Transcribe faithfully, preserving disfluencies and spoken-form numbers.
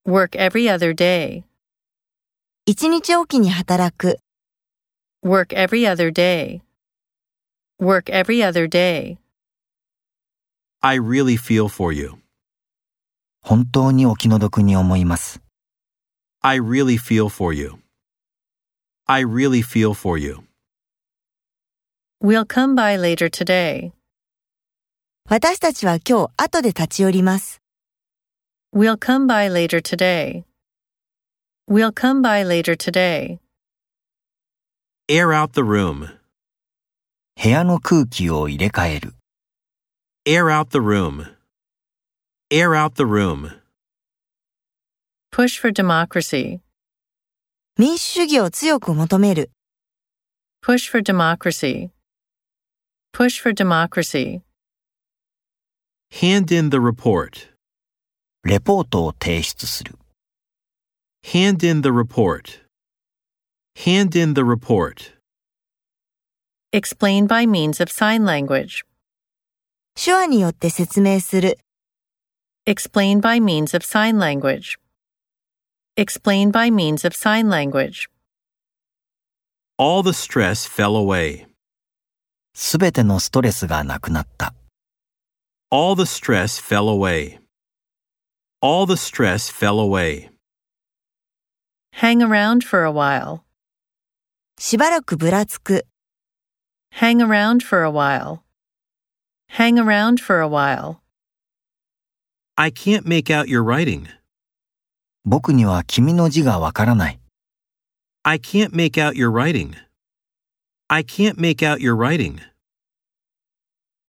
Work every other day. 一日おきに働く。 Work every other day. Work every other day. I really feel for you. 本当にお気の毒に思います。 I really feel for you. I really feel for you. We'll come by later today. 私たちは今日後で立ち寄ります。 We'll come by later today. We'll come by later today. Air out the room. 部屋の空気を入れ替える。 Air out the room. Air out the room. Push for democracy. 民主主義を強く求める。 Push for democracy. Push for democracy. Hand in the report. レポートを提出する。 Hand in the report. Hand in the report. Explain by means of sign language. 手話によって説明する。 Explain by means of sign language. Explain by means of sign language. All the stress fell away. すべてのストレスがなくなった。 All the stress fell away. All the stress fell away. Hang around for a while. しばらくぶらつく。 Hang around for a while. Hang around for a while. I can't make out your writing. 僕には君の字がわからない。 I can't make out your writing. I can't make out your writing.